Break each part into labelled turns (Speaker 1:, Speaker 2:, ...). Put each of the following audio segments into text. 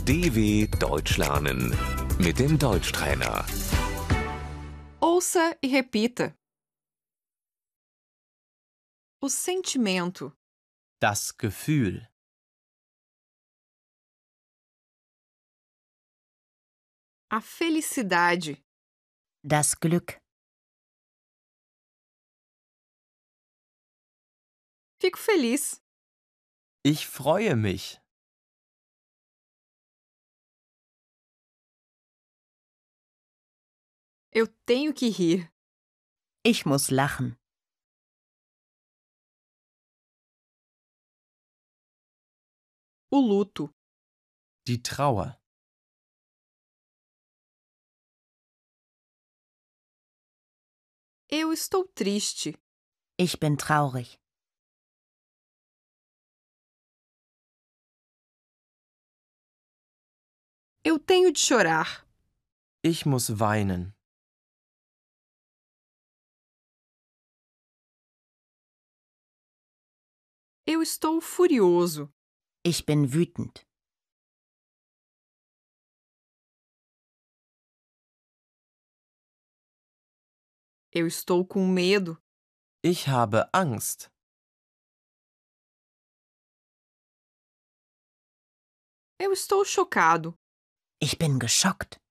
Speaker 1: DW Deutsch lernen mit dem Deutschtrainer.
Speaker 2: Ouça e repita. O sentimento,
Speaker 3: Das Gefühl,
Speaker 2: a felicidade,
Speaker 4: Das Glück.
Speaker 2: fico feliz,
Speaker 3: ich freue mich,
Speaker 2: eu tenho que rir,
Speaker 4: Ich muss lachen.
Speaker 2: o luto,
Speaker 3: die Trauer,
Speaker 2: eu estou triste,
Speaker 4: Ich bin traurig.
Speaker 2: eu tenho de chorar,
Speaker 3: ich muss weinen,
Speaker 2: eu estou furioso,
Speaker 4: Ich bin wütend.
Speaker 2: eu estou com medo,
Speaker 3: ich habe Angst,
Speaker 2: eu estou chocado,
Speaker 4: Ich bin geschockt.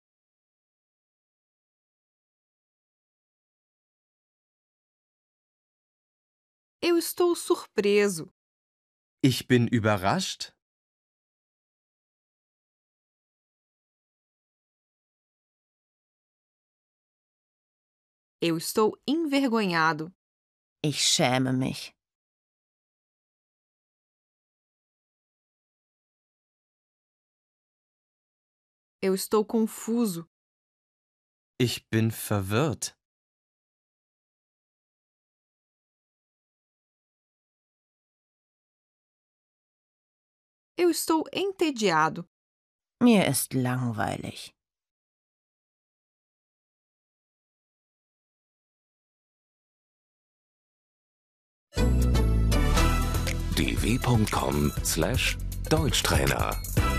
Speaker 2: eu estou surpreso,
Speaker 3: ich bin überrascht,
Speaker 2: eu estou envergonhado,
Speaker 4: Ich schäme mich.
Speaker 2: eu estou confuso,
Speaker 3: ich bin verwirrt,
Speaker 2: eu estou entediado,
Speaker 4: Mir ist langweilig.
Speaker 1: dw.com/Deutschtrainer